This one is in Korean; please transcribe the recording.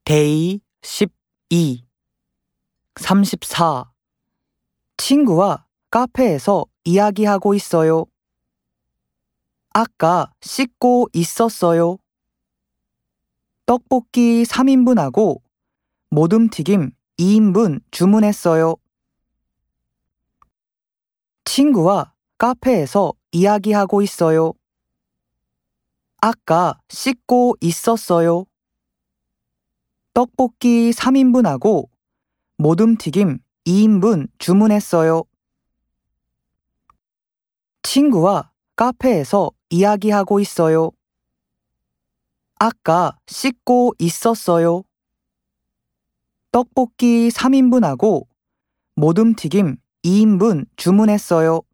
데이 12 34 친구와 카페에서 이야기하고 있어요. 아까 씻고 있었어요. 떡볶이 3인분하고 모둠튀김 2인분 주문했어요. 친구와 카페에서 이야기하고 있어요. 아까 씻고 있었어요. 떡볶이 3인분하고 모둠튀김 2인분 주문했어요. 친구와 카페에서 이야기하고 있어요. 아까 씻고 있었어요. 떡볶이 3인분하고 모둠튀김 2인분 주문했어요.